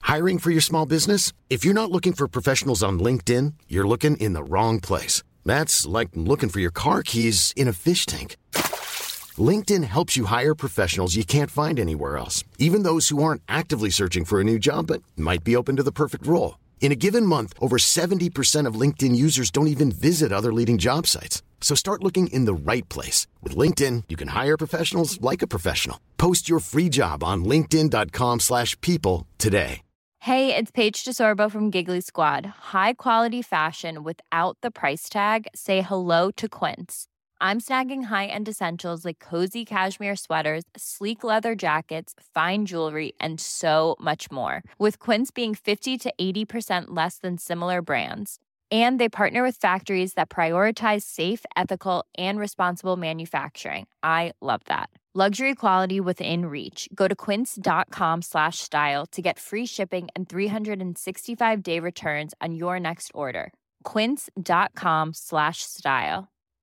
Hiring for your small business? If you're not looking for professionals on LinkedIn, you're looking in the wrong place. That's like looking for your car keys in a fish tank. LinkedIn helps you hire professionals you can't find anywhere else, even those who aren't actively searching for a new job but might be open to the perfect role. In a given month, over 70% of LinkedIn users don't even visit other leading job sites. So start looking in the right place. With LinkedIn, you can hire professionals like a professional. Post your free job on linkedin.com/people today. Hey, it's Paige DeSorbo from Giggly Squad. High quality fashion without the price tag. Say hello to Quince. I'm snagging high-end essentials like cozy cashmere sweaters, sleek leather jackets, fine jewelry, and so much more. With Quince being 50 to 80% less than similar brands. And they partner with factories that prioritize safe, ethical, and responsible manufacturing. I love that. Luxury quality within reach. Go to quince.com/style to get free shipping and 365-day returns on your next order. quince.com/style.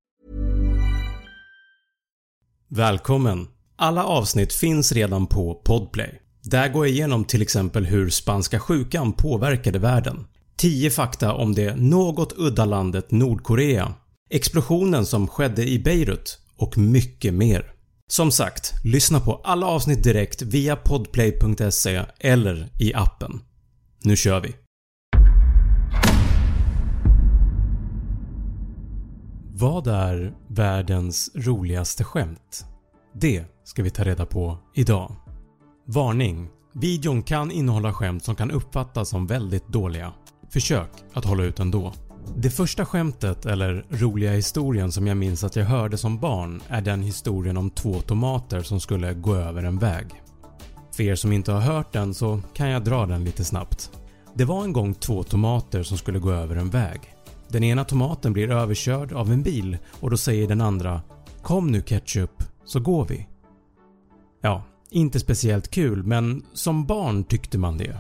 Välkommen! Alla avsnitt finns redan på Podplay. Där går jag igenom till exempel hur spanska sjukan påverkade världen. 10 fakta om det något udda landet Nordkorea, explosionen som skedde i Beirut och mycket mer. Som sagt, lyssna på alla avsnitt direkt via podplay.se eller i appen. Nu kör vi! Vad är världens roligaste skämt? Det ska vi ta reda på idag. Varning! Videon kan innehålla skämt som kan uppfattas som väldigt dåliga. Försök att hålla ut ändå. Det första skämtet eller roliga historien som jag minns att jag hörde som barn är den historien om 2 tomater som skulle gå över en väg. För er som inte har hört den så kan jag dra den lite snabbt. Det var en gång 2 tomater som skulle gå över en väg. Den ena tomaten blir överkörd av en bil och då säger den andra: "Kom nu ketchup, så går vi." Ja, inte speciellt kul, men som barn tyckte man det.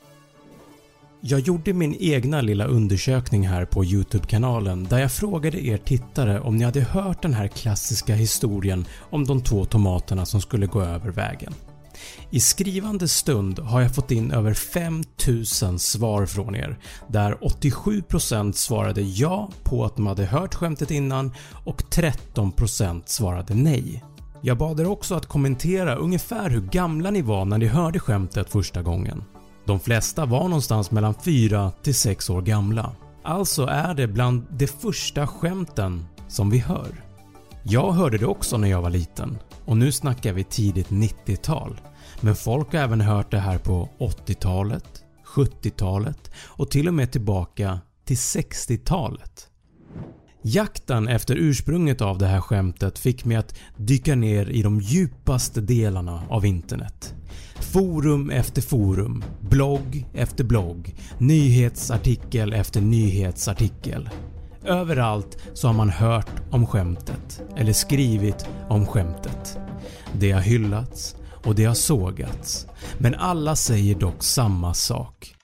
Jag gjorde min egna lilla undersökning här på YouTube-kanalen där jag frågade er tittare om ni hade hört den här klassiska historien om de 2 tomaterna som skulle gå över vägen. I skrivande stund har jag fått in över 5000 svar från er, där 87% svarade ja på att de hade hört skämtet innan och 13% svarade nej. Jag bad er också att kommentera ungefär hur gamla ni var när ni hörde skämtet första gången. De flesta var någonstans mellan 4 till 6 år gamla. Alltså är det bland de första skämten som vi hör. Jag hörde det också när jag var liten och nu snackar vi tidigt 90-tal. Men folk har även hört det här på 80-talet, 70-talet och till och med tillbaka till 60-talet. Jakten efter ursprunget av det här skämtet fick mig att dyka ner i de djupaste delarna av internet. Forum efter forum, blogg efter blogg, nyhetsartikel efter nyhetsartikel. Överallt så har man hört om skämtet eller skrivit om skämtet. Det har hyllats och det har sågats, men alla säger dock samma sak.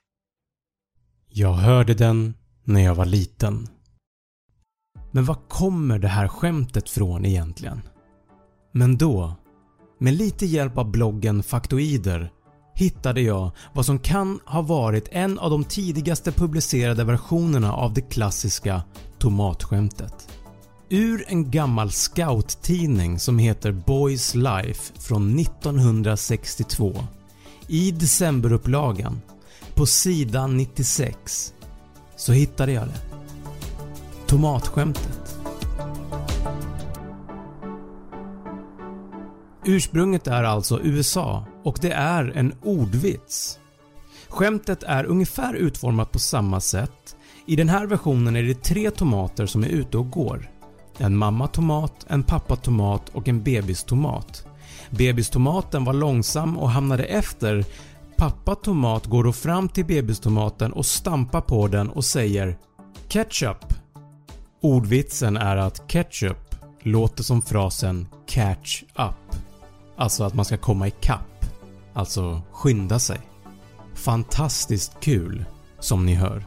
Jag hörde den när jag var liten. Men var kommer det här skämtet från egentligen? Men då, med lite hjälp av bloggen Faktoider, hittade jag vad som kan ha varit en av de tidigaste publicerade versionerna av det klassiska tomatskämtet. Ur en gammal scouttidning som heter Boys Life från 1962, i decemberupplagan, på sidan 96, så hittade jag det. Tomatskämtet. Ursprunget är alltså USA och det är en ordvits. Skämtet är ungefär utformat på samma sätt. I den här versionen är det 3 tomater som är ute och går. En mammatomat, en pappatomat och en bebistomat. Bebistomaten var långsam och hamnade efter. Pappatomat går då fram till bebistomaten och stampar på den och säger ketchup. Ordvitsen är att ketchup låter som frasen catch up. Alltså att man ska komma i kapp. Alltså skynda sig. Fantastiskt kul, som ni hör.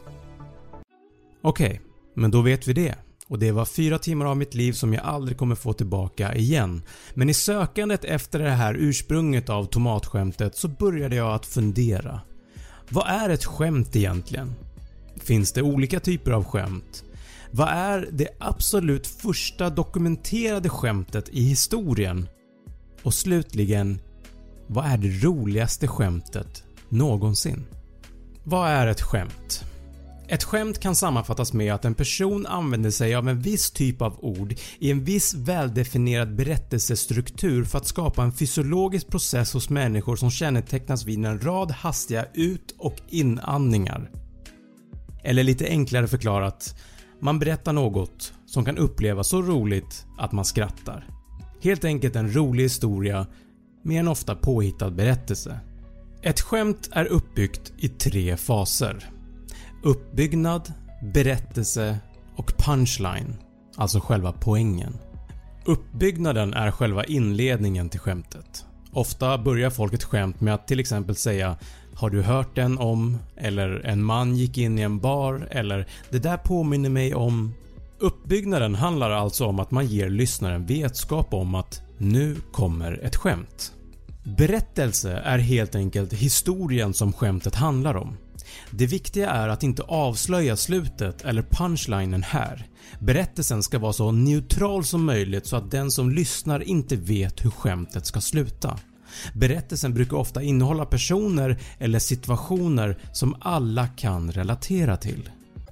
Okej, men då vet vi det. Och det var 4 timmar av mitt liv som jag aldrig kommer få tillbaka igen. Men i sökandet efter det här ursprunget av tomatskämtet så började jag att fundera. Vad är ett skämt egentligen? Finns det olika typer av skämt? Vad är det absolut första dokumenterade skämtet i historien? Och slutligen, vad är det roligaste skämtet någonsin? Vad är ett skämt? Ett skämt kan sammanfattas med att en person använder sig av en viss typ av ord i en viss väldefinierad berättelsestruktur för att skapa en fysiologisk process hos människor som kännetecknas vid en rad hastiga ut- och inandningar. Eller lite enklare förklarat, man berättar något som kan upplevas så roligt att man skrattar. Helt enkelt en rolig historia med en ofta påhittad berättelse. Ett skämt är uppbyggt i 3 faser. Uppbyggnad, berättelse och punchline, alltså själva poängen. Uppbyggnaden är själva inledningen till skämtet. Ofta börjar folk ett skämt med att till exempel säga "Har du hört den om?" eller "En man gick in i en bar" eller "Det där påminner mig om..." Uppbyggnaden handlar alltså om att man ger lyssnaren vetskap om att nu kommer ett skämt. Berättelse är helt enkelt historien som skämtet handlar om. Det viktiga är att inte avslöja slutet eller punchlinen här. Berättelsen ska vara så neutral som möjligt så att den som lyssnar inte vet hur skämtet ska sluta. Berättelsen brukar ofta innehålla personer eller situationer som alla kan relatera till.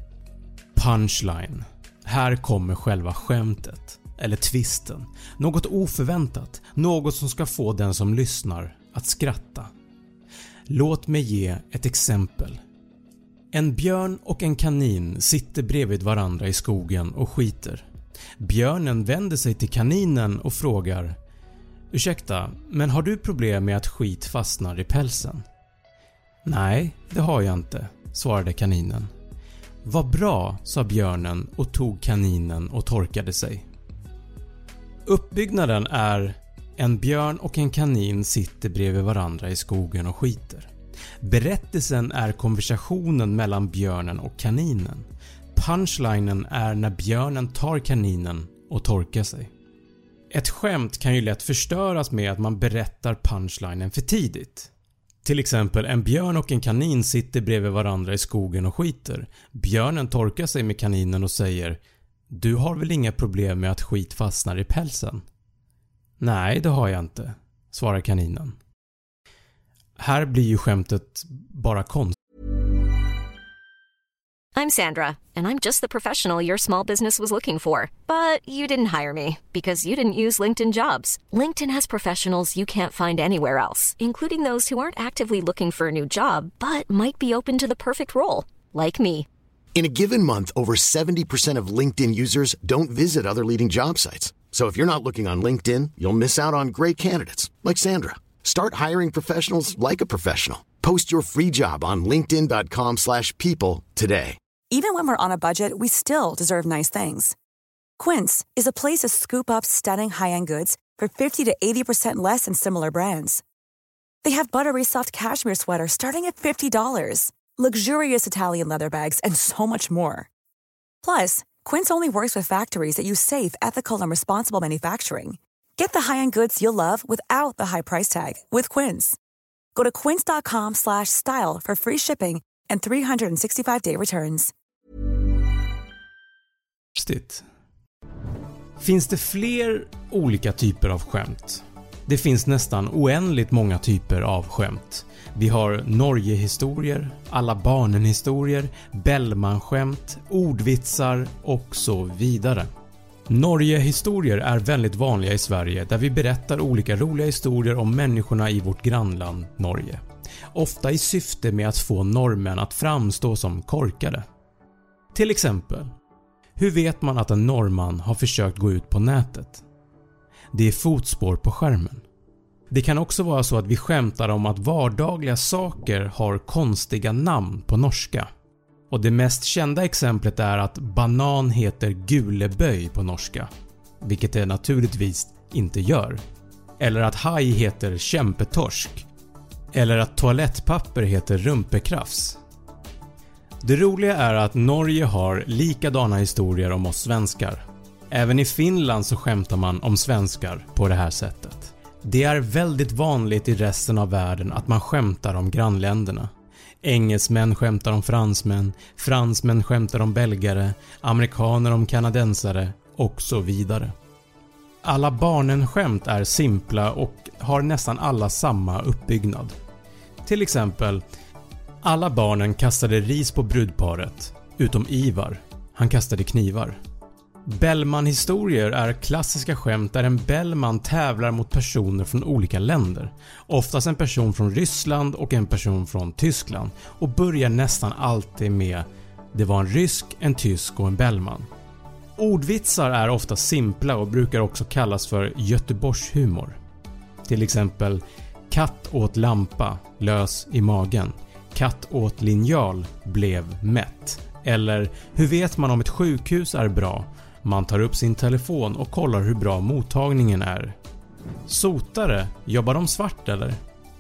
Punchline. Här kommer själva skämtet, eller twisten. Något oförväntat, något som ska få den som lyssnar att skratta. Låt mig ge ett exempel. En björn och en kanin sitter bredvid varandra i skogen och skiter. Björnen vänder sig till kaninen och frågar: "Ursäkta, men har du problem med att skit fastnar i pälsen?" "Nej, det har jag inte", svarade kaninen. "Vad bra", sa björnen och tog kaninen och torkade sig. Uppbyggnaden är: en björn och en kanin sitter bredvid varandra i skogen och skiter. Berättelsen är konversationen mellan björnen och kaninen. Punchlinen är när björnen tar kaninen och torkar sig. Ett skämt kan ju lätt förstöras med att man berättar punchlinen för tidigt. Till exempel, en björn och en kanin sitter bredvid varandra i skogen och skiter. Björnen torkar sig med kaninen och säger: "Du har väl inga problem med att skit fastnar i pälsen?" "Nej, det har jag inte", svarar kaninen. Här blir ju skämtet bara konstigt. I'm Sandra, and I'm just the professional your small business was looking for. But you didn't hire me because you didn't use LinkedIn Jobs. LinkedIn has professionals you can't find anywhere else, including those who aren't actively looking for a new job but might be open to the perfect role, like me. In a given month, over 70% of LinkedIn users don't visit other leading job sites. So if you're not looking on LinkedIn, you'll miss out on great candidates like Sandra. Start hiring professionals like a professional. Post your free job on linkedin.com/people today. Even when we're on a budget, we still deserve nice things. Quince is a place to scoop up stunning high-end goods for 50 to 80% less than similar brands. They have buttery soft cashmere sweaters starting at $50, luxurious Italian leather bags, and so much more. Plus, Quince only works with factories that use safe, ethical, and responsible manufacturing. Get the high-end goods you'll love without the high price tag with Quince. Go to quince.com/style for free shipping and 365-day returns. Finns det fler olika typer av skämt? Det finns nästan oändligt många typer av skämt. Vi har Norgehistorier, alla barnen-historier, Bellman-skämt, ordvitsar och så vidare. Norgehistorier är väldigt vanliga i Sverige där vi berättar olika roliga historier om människorna i vårt grannland Norge. Ofta i syfte med att få norrmän att framstå som korkade. Till exempel, hur vet man att en norrman har försökt gå ut på nätet? Det är fotspår på skärmen. Det kan också vara så att vi skämtar om att vardagliga saker har konstiga namn på norska. Och det mest kända exemplet är att banan heter guleböj på norska, vilket det naturligtvis inte gör. Eller att haj heter kämpetorsk. Eller att toalettpapper heter rumpekrafs. Det roliga är att Norge har likadana historier om oss svenskar. Även i Finland så skämtar man om svenskar på det här sättet. Det är väldigt vanligt i resten av världen att man skämtar om grannländerna. Engelsmän skämtar om fransmän, fransmän skämtar om belgare, amerikaner om kanadensare och så vidare. Alla barnen-skämt är simpla och har nästan alla samma uppbyggnad. Till exempel, alla barnen kastade ris på brudparet, utom Ivar. Han kastade knivar. Bellman-historier är klassiska skämt där en Bellman tävlar mot personer från olika länder. Oftast en person från Ryssland och en person från Tyskland, och börjar nästan alltid med "det var en rysk, en tysk och en Bellman". Ordvitsar är ofta simpla och brukar också kallas för Göteborgshumor. Till exempel "katt åt lampa, lös i magen", "katt åt linjal, blev mätt", eller "hur vet man om ett sjukhus är bra? Man tar upp sin telefon och kollar hur bra mottagningen är". Sotare, jobbar de svart eller?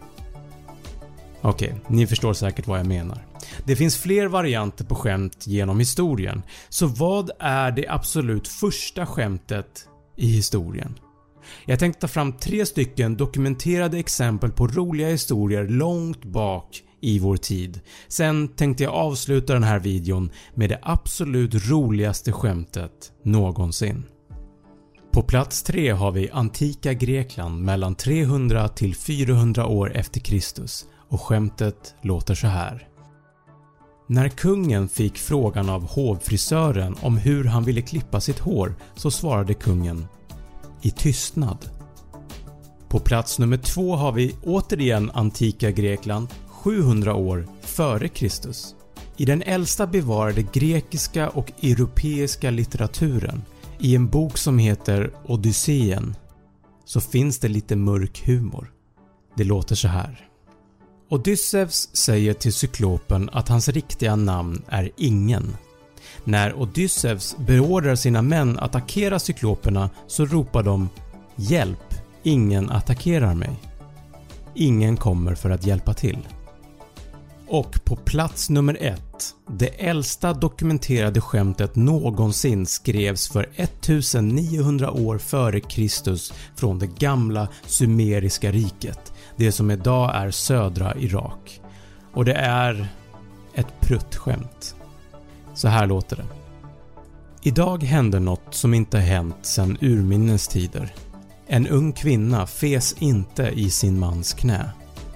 Okej, ni förstår säkert vad jag menar. Det finns fler varianter på skämt genom historien, så vad är det absolut första skämtet i historien? Jag tänkte ta fram 3 stycken dokumenterade exempel på roliga historier långt bak i vår tid. Sen tänkte jag avsluta den här videon med det absolut roligaste skämtet någonsin. På plats 3 har vi antika Grekland mellan 300 till 400 år efter Kristus, och skämtet låter så här. När kungen fick frågan av hovfrisören om hur han ville klippa sitt hår, så svarade kungen "i tystnad". På plats nummer 2 har vi återigen antika Grekland 700 år före Kristus. I den äldsta bevarade grekiska och europeiska litteraturen, i en bok som heter Odysseen, så finns det lite mörk humor. Det låter så här. Odysseus säger till cyklopen att hans riktiga namn är Ingen. När Odysseus beordrar sina män att attackera cykloperna, så ropar de "Hjälp, ingen attackerar mig". Ingen kommer för att hjälpa till. Och på plats nummer 1, det äldsta dokumenterade skämtet någonsin skrevs för 1900 år före Kristus från det gamla sumeriska riket, det som idag är södra Irak. Och det är ett pruttskämt. Så här låter det. Idag hände något som inte hänt sedan urminnes tider. En ung kvinna fes inte i sin mans knä.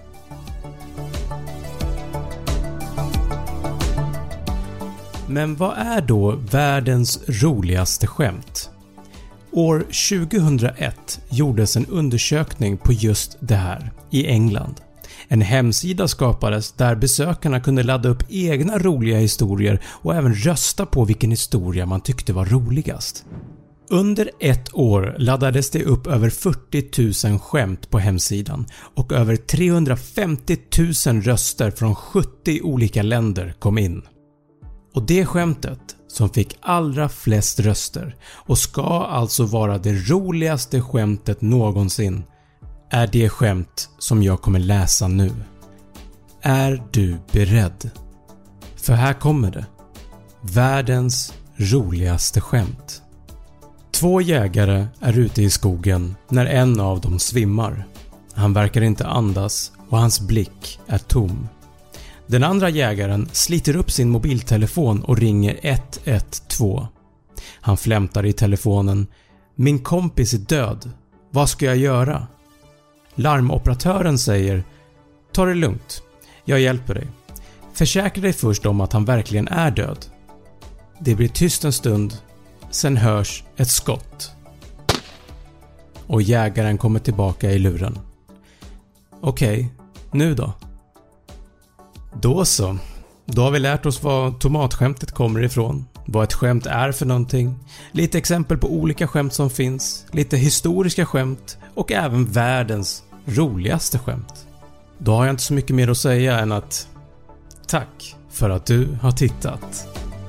Men vad är då världens roligaste skämt? År 2001 gjordes en undersökning på just det här i England. En hemsida skapades där besökarna kunde ladda upp egna roliga historier och även rösta på vilken historia man tyckte var roligast. Under ett år laddades det upp över 40 000 skämt på hemsidan och över 350 000 röster från 70 olika länder kom in. Och det skämtet som fick allra flest röster och ska alltså vara det roligaste skämtet någonsin är det skämt som jag kommer läsa nu. Är du beredd? För här kommer det. Världens roligaste skämt. 2 jägare är ute i skogen när en av dem svimmar. Han verkar inte andas och hans blick är tom. Den andra jägaren sliter upp sin mobiltelefon och ringer 112. Han flämtar i telefonen. Min kompis är död. Vad ska jag göra? Larmoperatören säger: ta det lugnt. Jag hjälper dig. Försäkra dig först om att han verkligen är död. Det blir tyst en stund. Sen hörs ett skott. Och jägaren kommer tillbaka i luren. Okej, nu då? Då så. Då har vi lärt oss vad tomatskämtet kommer ifrån. Vad ett skämt är för någonting. Lite exempel på olika skämt som finns. Lite historiska skämt. Och även världens roligaste skämt. Då har jag inte så mycket mer att säga än att tack för att du har tittat.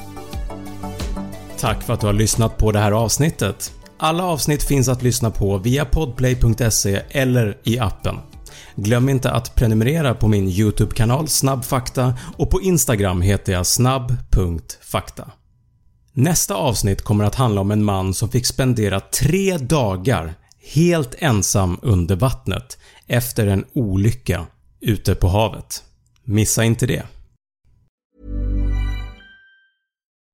Tack för att du har lyssnat på det här avsnittet. Alla avsnitt finns att lyssna på via podplay.se eller i appen. Glöm inte att prenumerera på min YouTube-kanal Snabbfakta och på Instagram heter jag snabb.fakta. Nästa avsnitt kommer att handla om en man som fick spendera 3 dagar helt ensam under vattnet efter en olycka ute på havet. Missa inte det.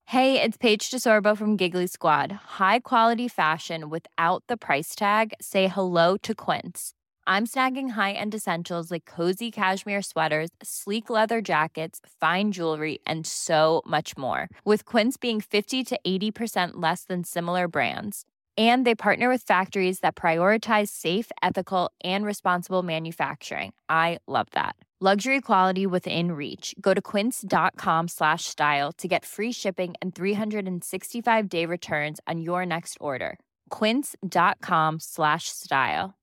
Hey, it's Paige DeSorbo from Giggly Squad. High quality fashion without the price tag. Say hello to Quince. I'm snagging high-end essentials like cozy cashmere sweaters, sleek leather jackets, fine jewelry, and so much more. With Quince being 50 to 80% less than similar brands. And they partner with factories that prioritize safe, ethical, and responsible manufacturing. I love that. Luxury quality within reach. Go to quince.com/style to get free shipping and 365-day returns on your next order. Quince.com/style.